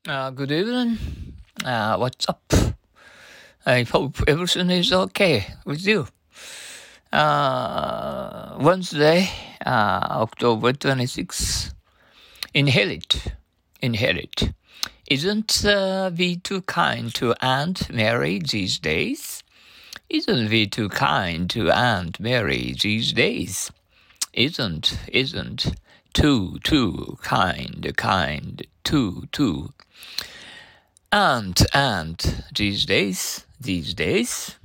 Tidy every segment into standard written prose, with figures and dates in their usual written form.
Good evening. What's up? I hope everything is okay with you. Wednesday, October 26th. Inherit. Inherit. Isn't we too kind to Aunt Mary these days? Isn't we too kind to Aunt Mary these days? Isn't too kind, too. And these days.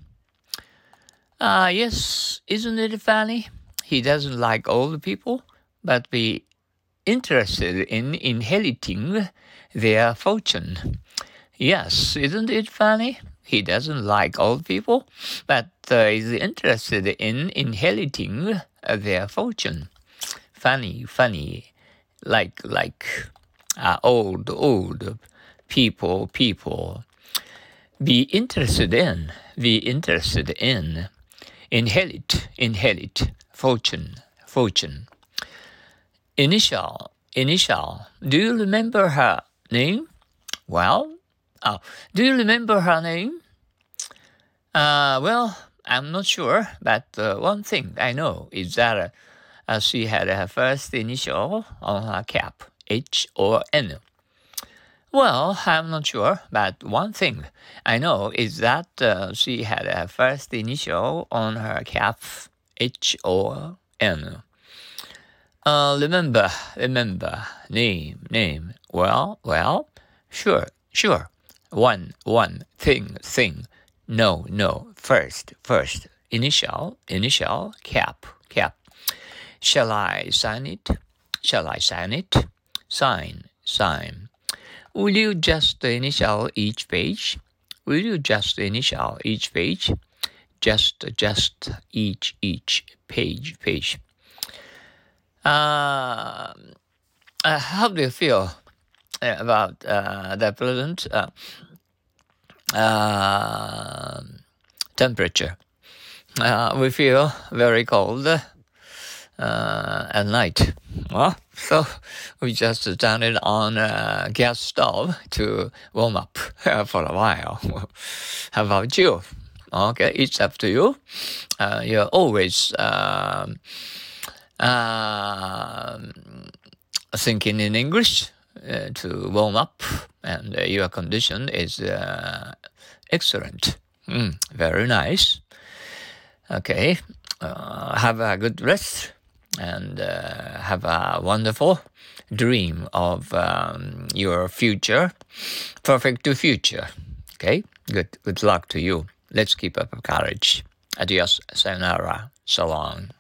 Yes, isn't it funny? He doesn't like old people, but be interested in inheriting their fortune. Yes, isn't it funny? He doesn't like old people, but is interested in inheriting their fortune. Funny, like old people. Be interested in, inherit, fortune. Initial. Do you remember her name? Well, do you remember her name? Well, I'm not sure, but one thing I know is that she had her first initial on her cap, H or N. Well, I'm not sure, but one thing I know is that she had her first initial on her cap, H or N. Remember, name. Well, sure. One, thing. No, first. Initial, cap. Shall I sign it? Sign. Will you just initial each page? Just each page. How do you feel about the present temperature? We feel very cold at night. Well, so we just turn it on gas stove to warm up for a while. How about you? Okay, it's up to you. You're always thinking in English to warm up, and your condition is excellent. Very nice. Okay, have a good rest and have a wonderful dream of your future, perfect future. Okay, good luck to you. Let's keep up courage. Adios, sayonara, so long.